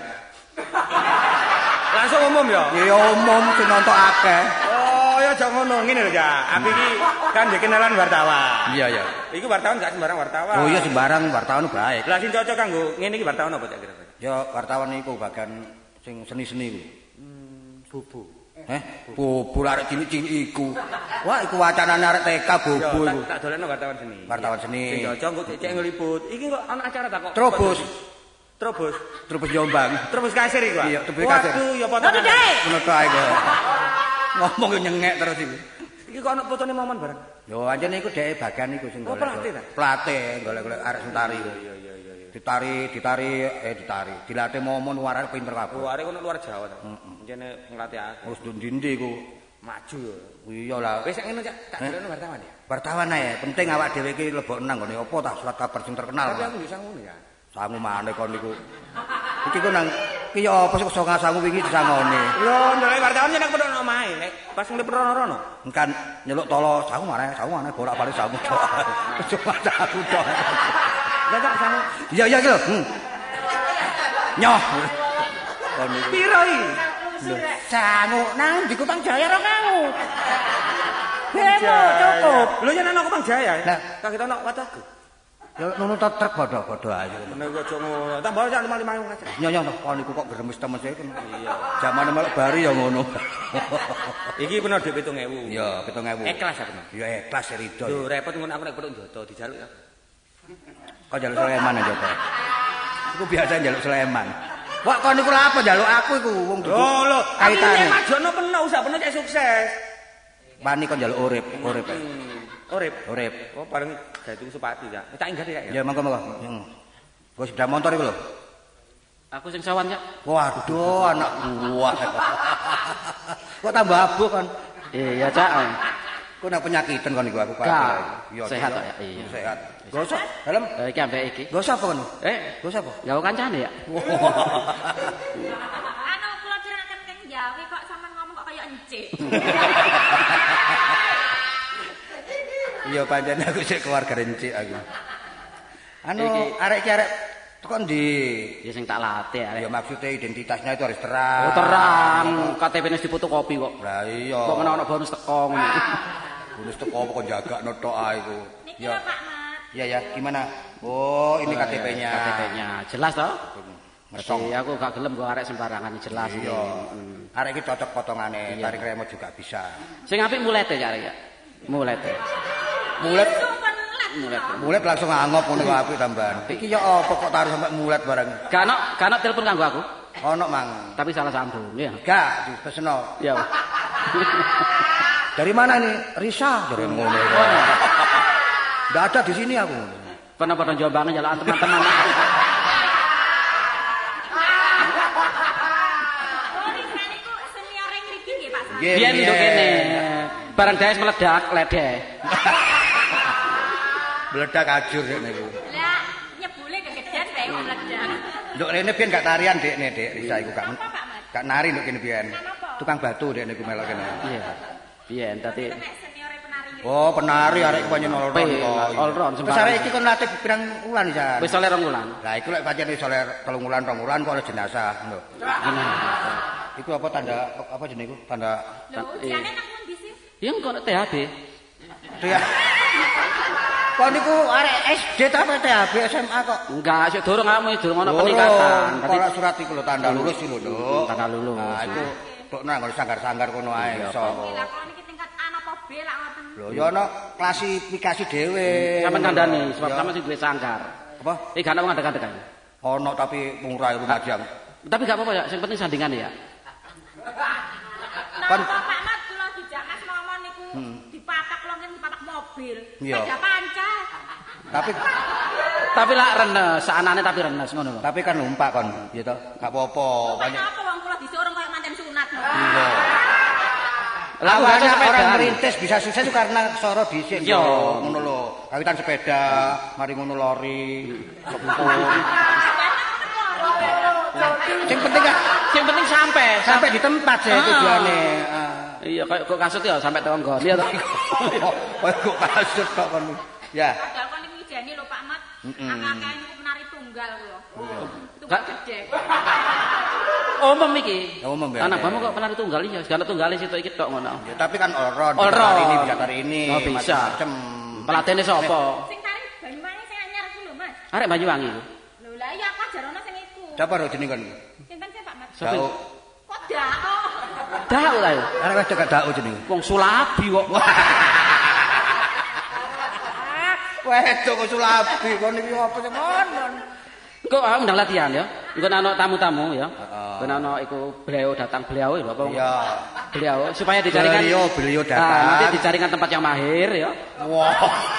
Langsung umum ya. Ya umum sing nonton akeh. Oh, ya aja ngono. Ngene lho, Cak. Aku iki kan ndek kenalan wartawan. Iya ya. Iku wartawan gak sembarang wartawan. Oh iya sembarang wartawan baik. Lah sing cocok kanggo ngene iki wartawan apa Cak kira-kira? Ya wartawan niku bagian sing seni-seni kuwi. Bobo. Bobo arek cilik-cilik iku. Wah, iku wacanane arek TK bobo iku. Tak dolekno wartawan seni. Wartawan seni. Sing cocok kok cek ngeliput. Iki kok ana acara tak kok. Trobos. Trobos Jombang. Trobos kasir iku. Iya, trobos kasir. Waduh, ya potongan. Ngono to ae kok. Ngomong yo nyengek terus iku. Iki kok ana fotone momen bareng. Yo anjene iku dhek bagian iku sing golek. pelatih ta? Pelatih golek-golek arek sing tari. Iya. Ditari. Dilatih momon arek pinter kabeh. Oh, arek kono luar Jawa ta. Njene ngelatih aku. Wis ndi iku. Maju ya. Iya lah. Wis ngene Cak, tak dolekno wartawan ya. Wartawan ae, penting awak dhewe iki lebok nang ngene apa ta surat kabar sing terkenal. Tapi aku yo sangono ya. Sangu maneh kon niku. Iki ku nang iki ya apa sing sangu wingi disangone. Lho, ndolek wartawan nyenek pedhok omahe, nek pas ngelip rono-rono. Kan nyeluk tolo sangu maneh bolak-balik sangu tok. Cuma sangu tok. Lah Cak sangu. Iya iki lho. Nyoh. Kon niku. Piro iki? Sangu nang di Kupang Jaya 2000. Bemo cukup. Lho yen ana Kupang Jaya. Lah, kaget ana wataku. Ya ngono to truk padha-padha ae. Nek aja ngono. Tambah Cak 5 aja. Nyonya kon niku kok gremes temen saya kan. Iya. Zamane melok bari ya ngono. Iki peno dhuwit 7.000. Iya, 7.000. Ikhlas ya peno. Ya ikhlas ya rido. Lho repot ngono aku nek pedhok njoto dijaluk ya. Kok njaluk Sleman aja to. Iku biasa njaluk Sleman. Wah, kon niku lha apa njaluk aku iku wong dudu. Oh lho, kaitane. Nek majono peno usah peno cek sukses. Wani kon njaluk urip. Urip. Oh bareng gawe tuku sepatu ya. Tak ingat ya. Ya monggo. Gue sepeda motor iku lho. Aku sing sawan ya. Waduh, anak buah. Kok tambah abuh kan? Iya, Cak. Kok nak penyakitan kon iku aku Iya, sehat kok ya. Iya. Sehat. Gosok dalam. Iki ambek iki. Gosok apa kon? Gosok apa? Gawe kancane ya. Anu kula diraken keng Jawi kok sampean ngomong kok kaya encik. Iya pancen aku sik keluarga rencik aku. Anu arek iki arek tekan ndi? Ya sing tak latih arek. Ya maksudnya identitasnya itu harus terang. Oh terang, KTP-ne difotokopi kok. Lah iya. Kok ana bonus teko ngono. Bonus teko apa kok jagakno tok ae iku. Niki lho Pak Mat. Iya ya, gimana? Oh, ini KTP-nya. KTP-nya jelas toh? Ngetong. Jadi aku gak gelem kok arek sembarangan jelas iki. Iya. Arek iki cocok potongane, tarik remote juga bisa. Sing apik mulete ya arek ya. Mulete. Mulet langsung angop ngono kok apik tambahan. Iki ya apa kok taruh sampai mulet barang. Gak ono telepon kanggo aku. Ono mang. Tapi salah sambung ya. Gak dipeseno. Ya. Dari mana nih? Risa jare ngono. Ndak ada di sini aku. Pernah Jombang jalan teman-teman. Oh, Risa niku senior ngriki nggih Pak Mat. Biyen nduk kene. Barang daes meledak ledeh. Meledak ajur nek niku. Lah nyebule kegedean bae kok meledak. Nduk rene biyen gak tarian Dekne, Dek. Risa iku gak. Apa Pak Mat? Gak nari nduk kene biyen. Tukang batu Dek niku melok kene. Iya. Biyen dadi Nek senior penari ngriki. Oh, penari arek iku pancen all round kok. All round, Terus arek iki kon latih pirang wulan iki, Jan? wis oleh 2 wulan. Lah iku lek pancen wis oleh 3 wulan, 2 wulan kok oleh jenazah lho. Iku apa tanda apa jenenge iku? Tanda Lho, ujiane nang pundi sih? Ya kok THB. dia. Kok niku arek SD ta apa THB SMA kok? Enggak, sik durung ono peningkatan. Kalau surat iku lho tanda lulus iku lho. Tanda lulus. Nah, iku tok nang sanggar-sanggar kono ae iso. Lah kok niki tingkat A apa B lah ngoten. Lho ya ono klasifikasi dhewe. Sampeyan kandhani sebab sama sing duwe sanggar. Apa? Iki gak ono ngandek-ngandekan. Ono tapi murah Lumajang. Tapi gak apa-apa ya, sing penting sandingane ya. Kan Pak Mat kula dijak Mas ngomong niku dipapak kula ngene dipapak mobil. Iya. Sepeda panca Tapi lak renes, anane tapi renes ngono lho. Tapi kan numpak kon, ya toh. Gak apa-apa. Banyak apa wong kula disuruh koyo manten sunat. Iya. Lah banyak orang merintis bisa sukses itu karena soro dhisik yo ngono lho. Kawitan sepeda, mari ngono lori, kepung. Sing penting sampai di tempat sih tujuane. Iya kok kasut ya sampai tonggo. Iya toh. Kok kasut kok kon. Ya. Padahal kon iki jane lho Pak Mat. Akeh niku penari tunggal kula. Gak gede. Umum iki. Umum ya. Anak bamu kok penari tunggal ya, segala tunggale situ iki tok ngono. Ya, tapi kan oron. Hari ini bisa hari ini. Oh, bisa. Macam Pelatihne sapa? Sing tari Banyuwangi sing anyar ku lho, Mas. Arek Banyuwangi. Lho lah iya aku jarone sing iku. Siapa ro jeneng kon? Sinten sih Pak Mat? Dau. Kok dao? Dau ta yo. Arek wedok gak dau jeneng. Wong Sulabi kok. Wedok kok Sulabi kon iki apa sing ngono? Kok undang latihan ya? Engko ana tamu-tamu ya. Engko ana iku beliau datang beliau lho apa? Iya. Beliau supaya dicarikan beliau datang. Nanti dicarikan tempat yang mahir ya. Wah.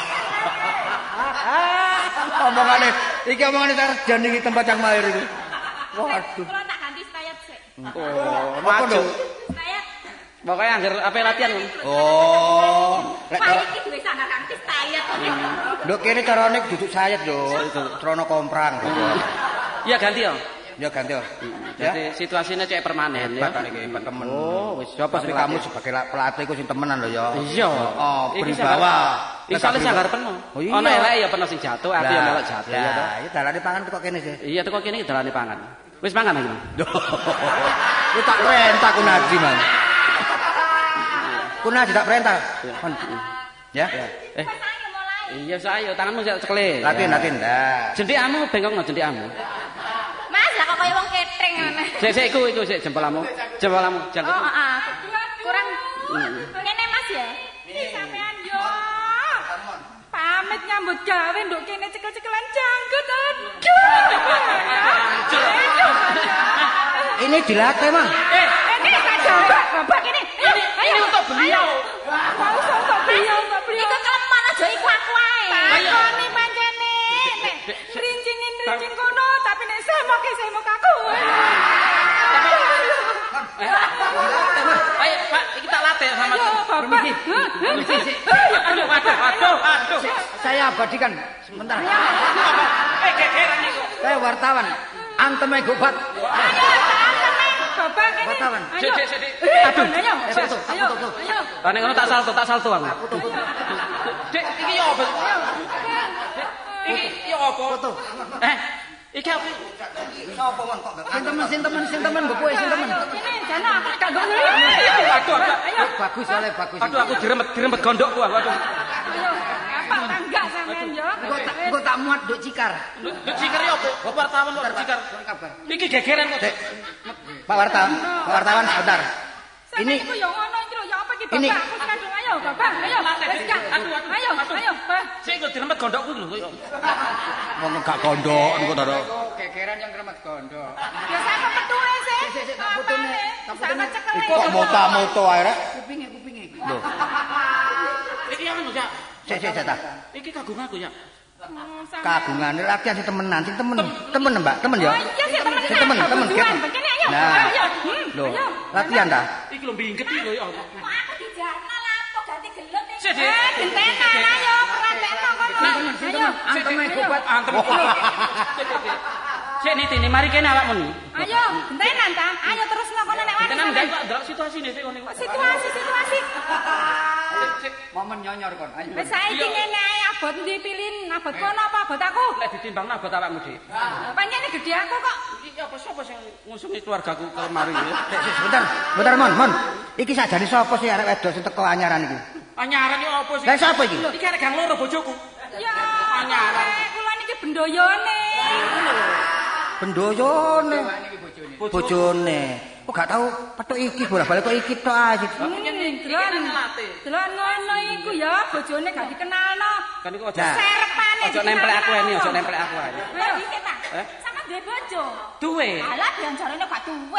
Omongane sarjan iki tempat yang mahir iki. Waduh. Kula tak ganti stayat sik. Oh, maju. Stayat. Pokoknya anggar apa latihan. Oh. Pak iki duwe sandal ganti stayat. Lho kene carane duduk sayat lho, trono komprang. Iya ganti ya. Ya ganti ya. Jadi situasinya cek permanen ya. Hebat iki, hebat temen. Oh, wis sapa Tapi kamu sebagai pelatih iku sing temenan lho ya. Iya. Oh, beribawa. Iki sale sanggar penuh. Ana elek ya penuh sing jatuh, aku ya melok jatuh ya to. Ya, dalane pangan kok kene sih. Iya teko kene iki dalane pangan. Wis pangan iki. Ku tak perintah ku Naji, Man. Ku Naji tak perintah. Ya. Iya saya tanganmu sak cekle. Latihan dah. Jendikamu bengkok no jendikamu. Mas lah kok kaya wong ketring ngene. Sik iku sik jempolamu. Jempolamu jangkut. Oh, kurang ngene Mas ya. Sampean yo. Pamit nyambut gawe nduk kene cekel-cekelan janggut. Ini dilatih, Mang. Ini tak jawab, Bapak ini. Ini untuk beliau. Mau untuk beliau. Iku keleman aja iku aku ae. Takoni pancene. Nek rincing kono tapi nek semok aku. Ayo Pak, kita latih sama. Bapak. Aduh. Saya abadikan sebentar. Gegeran iku. Saya wartawan. Anteme gobat. Bapak ini. Wartawan. Ayo. Aduh. Ayo. Tane ngono tak salto aku. Dek, iki yo apa? Iki yo apa? Foto. Iki apa? Sopo mon kok gak sing temen go kowe sing temen. Ini jana aku gak ngono. Aduh. Bagus oleh bagus. Aduh aku dirembet gondokku aku. Aduh. Ayo. Apa tangga sampean yo? Engko tak muat nduk cikar. Nduk cikar yo apa? Wartawan kok cikar. Iki gegeran kok. Pak wartawan sebentar. Ini Iku yo ngono iki lho, yo apa iki Ini. Bapak? Aku kandung ayo, Bapak. Ayo. Wis gak. Ayo, Pak. Sik kok dirembet gondokku lho. wong gak gondok niku to. Gegeran yang remet gondok. Ya sama petuhe sih. Sik, tak putune. Sama cekel. Iku kok moto-moto ae rek. Kupinge. Lho, Iki anu ya. sik ta. Iki kagunganku ya. Kagungane latihan sing temenan, sing temen Mbak, temen ya. Oh iya sih temen. Sing temen. Begini ayo. Nah. Ayo. Lho, latihan ta? Iki lho bingket iki lho ya. Kok aku dijarno lapo ganti gelut iki. Sik, Dik. Gentenan ayo, pratekno kono. Ayo. Anteme gobat. Antem. Sik nitini mari kene awakmu ni. Ayo, gentenan ta? Ayo terusno kono nek wani. Tenan ndak kok ndelok situasine sik ngene. Situasi. Momen nyonyor kon. Ayo. Wis saiki ngene ae abot ndi pilin? Abot kono apa abot aku? Nek ditimbang abot awakmu Dik. Pancene gede aku kok. Iki apa sapa sing ngusungi keluargaku kemari ya? Sebentar, Mon. Iki sakjane sapa sih arek wedok sing teko anyaran iki? Anyaran iki apa sih? Lah sapa iki? Iki arek gang loro bojoku. Ya, Anyaran. kula niki bendoyone. Bendoyone. Bojone. Kok gak tau petuk iki bolak-balik kok iki tok ae. Delon ngono iku ya, bojone gak dikenalno. Kan iku aja. Nah. Serepane. Ojo nempel aku ini, ojo nempel aku ae. Ayo iki ta. Eh? Sama duwe bojo. Duwe. Alah dianjarane gak duwe.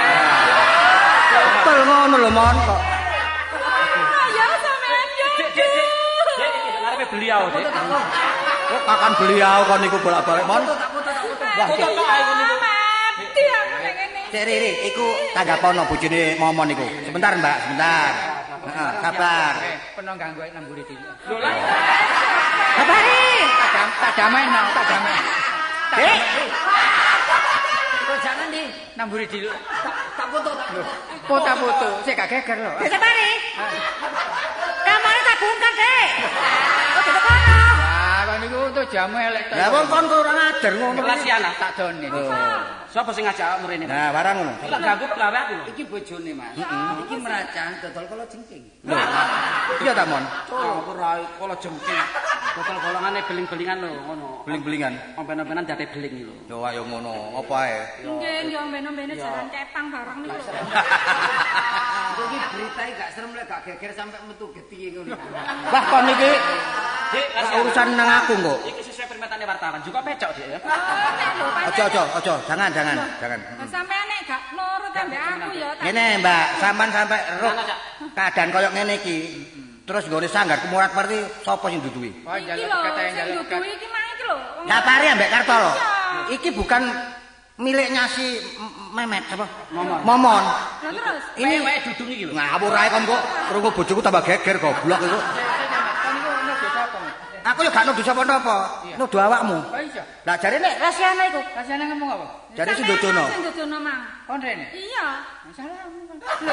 Betul ngono lho, Mon kok. Ya sampean yo. Dek, iki ngarepe beliau, Dik. Kok kakan beliau kon niku bolak-balik mon. Wah, Mati aku nek ngene. Cek Riri, iku tanggapono bojone momon niku. Sebentar, Mbak, sebentar. Heeh, sabar. Peno ganggu namburi dhewe. Lho lah. Sabari. Tak damai no, tak damai. Dek. Kok jangan di namburi dhewe. Tak foto tak. Foto-foto, sik gak geger lho. Sabari. Kamane tak bongkar, Dek. Kok dadi kono? Wah, kok niku tuh jamu elek to. Lah wong kon kurang ajar ngono. Lasiana. Tak done. Sapa sing ngajak awakmu rene? Nah, warang ngono. Tak ganggu gawe aku lho. Iki bojone, Mas. Iki meracan dodol kala jengking. Lho. Iya ta, Mon? Aku ora kala jengking. Botol golongane beling-belingan lho ngono. Beling-belingan. Omben-ombenan dadi beling lho. Yo ayo ngono, apa ae. Nggih, omben-ombene jaran kepang bareng niku. Iki beritae gak serem lek gak geger sampe metu geti ngono. Wah, kon iki Dik, urusan nang aku kok. iki sesuai permintaane wartawan. Juga pecok Dik ya. Ojo, jangan. Lah sampean nek gak nurut ambek aku ya tak. Ngene, Mbak, sampean sampe roh keadaan koyo ngene iki. Terus nggone sanggar kemurat-marti sapa sing duduhi? Oh, Iki njaluk lho, kata yang sing njaluk dudu iki mang iki lho. Sapari ambek Kartolo. Iki bukan miliknya si Memet apa? Momon. Lah terus Ini wae dudung iki lho. ngawur ae kon kok krungu bojoku tambah geger goblok iku. Kon niku ono desa apa? Aku yo gak nuduh sapa-sapa. Nuduh awakmu. Oh iya. Lah jarene Rasiana iku. Rasane ngomong apa? jare si Dodono. Sing dodono mang. Kon rene. Iya. Salahmu.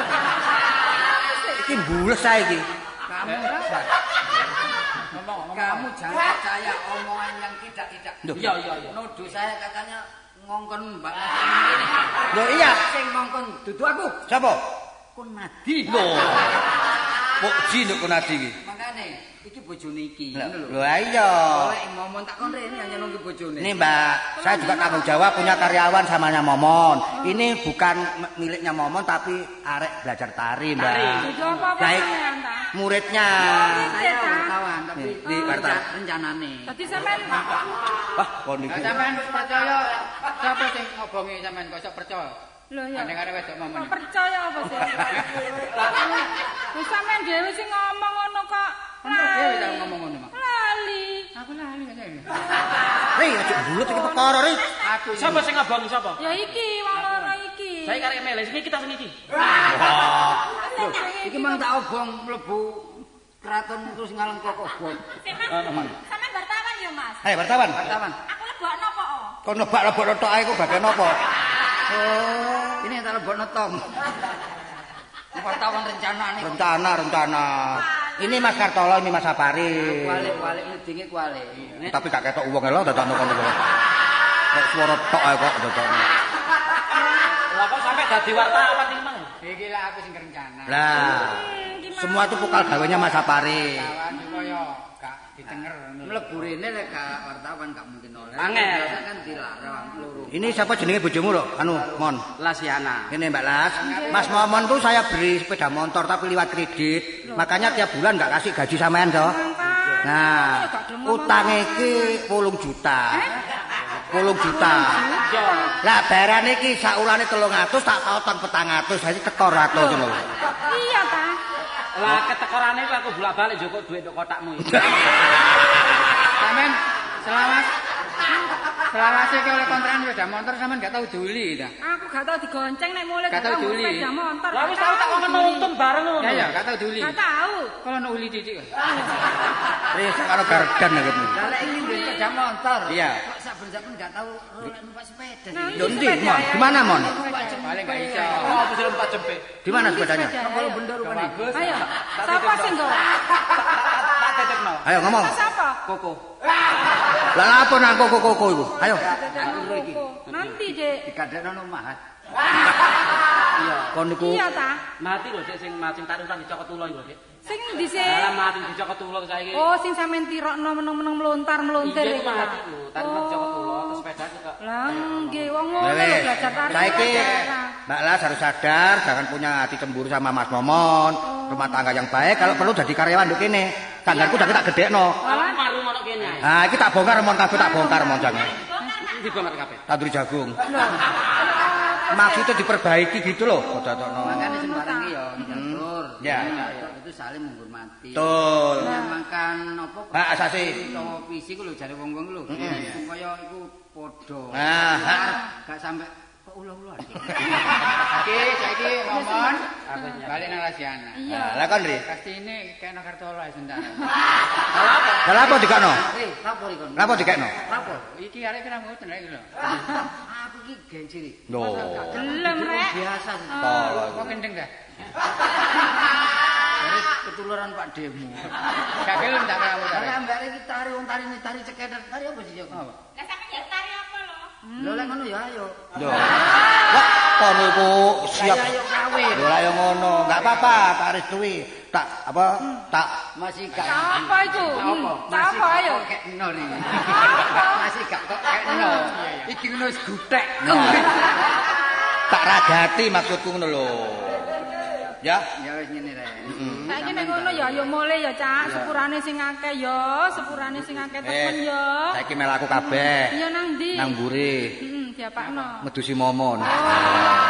Iki mbules ae iki. Kamu Ngomong. kamu jangan percaya omongan yang tidak. Loh. Iya. Nuduh saya katanya ngongkon Mbak Loh iya, sing ngongkon dudu aku. sapa? Kun Nadi. Loh. Kok jin kok nadi iki? Makane iki bojone iki ngono lho. Loh iya. Oleh momon tak kon rene hanya nunggu bojone. Ini Mbak, saya juga tanggung jawab punya karyawan samanya Momon. Ini bukan miliknya Momon tapi arek belajar tari, Mbak. Dudu apa-apa Baik. sampean ta? Muridnya. Saya wartawan tapi Di wartawan. rencanane. Dadi sampean Wah, kon iki. Sampean percaya sapa sing ngobongi sampean kok sok percaya? lho ya. Kadang-kadang wedok momon. Kok percaya apa sih? Wis sampean dhewe sing ngomong ngono kok. Kamu dhewe tak ngomong ngono, Mak. Lali. Aku lali aja ini. Ri, aja bulut iki perkara ri. Aku Sapa sing ngabongi sapa? Ya iki wong loro iki. Saya karek mele sing kita sing iki. Iki mang tak obong mlebu keraton terus ngalem kok obong. Sampean wartawan ya, Mas? Ayo wartawan. Wartawan. Aku lebokno apa? Kon nebak-nebak tok ae kok bagian apa? Oh, ini yang tak lebokno tong. Wartawan rencanane. Rencana. Ini Mas Kartolo, ini Mas Sapari. Kualik ngedinge kualik. Tapi gak ketok wong lho dadakno kono kok. Kok swara tok ae kok dadakno. Lah kok sampe dadi wartawan iki mang? iki lah aku sing rencana. Lah, semua itu pukal gawenya Mas Sapari. Kawan supaya gak ditenger ngono. Mlebu rene lek gak wartawan gak mungkin oleh. Angel. Biasa kan dilarang loro. Ini siapa jenenge bojomu lho? Anu, Mon. Lasiana. Ini Mbak Las, Mas Momon tuh saya beri sepeda motor tapi lewat kredit. Makanya tiap bulan nggak kasih gaji sampean toh. Nah, utang iki 10 juta. 10 juta. Lah bayaran iki sakulane 300 tak potong 400, jadi tekor 100 lho. Iya ta. Lah ketekorane ku aku bolak-balik njokok duit nduk kotakmu iki. Sampean selawase ki oleh kontrakan sepeda motor sampean gak tau duli ta. Aku gak tau digonceng nek mulai Gak tau duli. sepeda motor. Lah wis tau tak ngomong nonton bareng ngono. Ya gak tau duli. Gak tau. Kalau ono uli titik kok. Wis karo gardan gitu. Lah lek ini duwe sepeda motor. Iya. Kok saben-saben gak tau numpak sepeda. Nah, Lho ndi, Mon? Di mana, Mon? Paling gak iso. Oh, bisa numpak jempe. Di mana sepedanya? Kalau benda rupane. Ayo. Sapa sing nggawa? Tak tetepno. Ayo ngomong. Sapa? Koko. Lah apa nang koko iku? Ayo. Nanti, Dek. Dikadekno omah. Iya. Kon niku Iya ta. Mati lho Dik sing macing taruhan dicokot ulo iku, Dik. Sing ndi sih? Lah mati dicokot ulo saiki. Oh, sing sampean tirokno meneng-meneng melontar-melontir Iya, iku. mati lho. Taruhan dicokot ulo terus sepeda kok. Lah nggih wong ngono Wes, lho belajar tari. saiki Mbak Las harus sadar, jangan punya hati cemburu sama Mas Momon. Rumah tangga yang baik, kalau perlu jadi karyawan nduk kene. Sanggarku udah tak gedekno. Lah maru ono kene. Nah, iki tak bongkar mon kabeh tak bongkar mon jange. Dibongkar kabeh. Tandur jagung. Maksudnya diperbaiki gitu loh. Dadakno. Makane sembarang iki ya nyatur. Ya. Itu saling menghormati. Betul. Makan apa? Hak asasi. Utawa visi ku lho jare wong-wong lho. Supaya iku padha. Gak sampe kok ulah-ulah. Oke, saiki momon balik nang Lasiana. Iya. Lah kon Ri. Pastine kena Kartolo ae sendal. Lah apa dikakno? Lapo iki kon? Napa dikakno? Lapo? Iki arek kira ngoten iki lho. Aku iki gengsi Ri. Lho. Gelem rek. Biasa. Kok kendeng dah. Dari ketularan Pak Demo. Gak gelem tak kamu. Lah mbak iki tari wong tari cekedet. Tari apa sih, Jok? Apa? Lah sampeyan ya tari apa lho? Lho lek ngono ya ayo. Lho. Wah, kono iku siap. Ayo kawin. Lho ayo ngono. Enggak apa-apa, tak restui. Tak apa? Tak Masih gak. Apa itu? Masih Apa ayo? Kek ri. Masih gak kok kekno. Iki ngono wis gutek. tak ragati maksudku ngono lho. Ya. Ya wis ngene rek. Saiki nek ngono ya ayo mulai ya, Cak. Sepurane sing akeh ya, sepurane sing akeh temen ya. Saiki melaku kabeh. Iya nang ndi? Nang mburi. Heeh, diapakno. Medusi momon. Oh.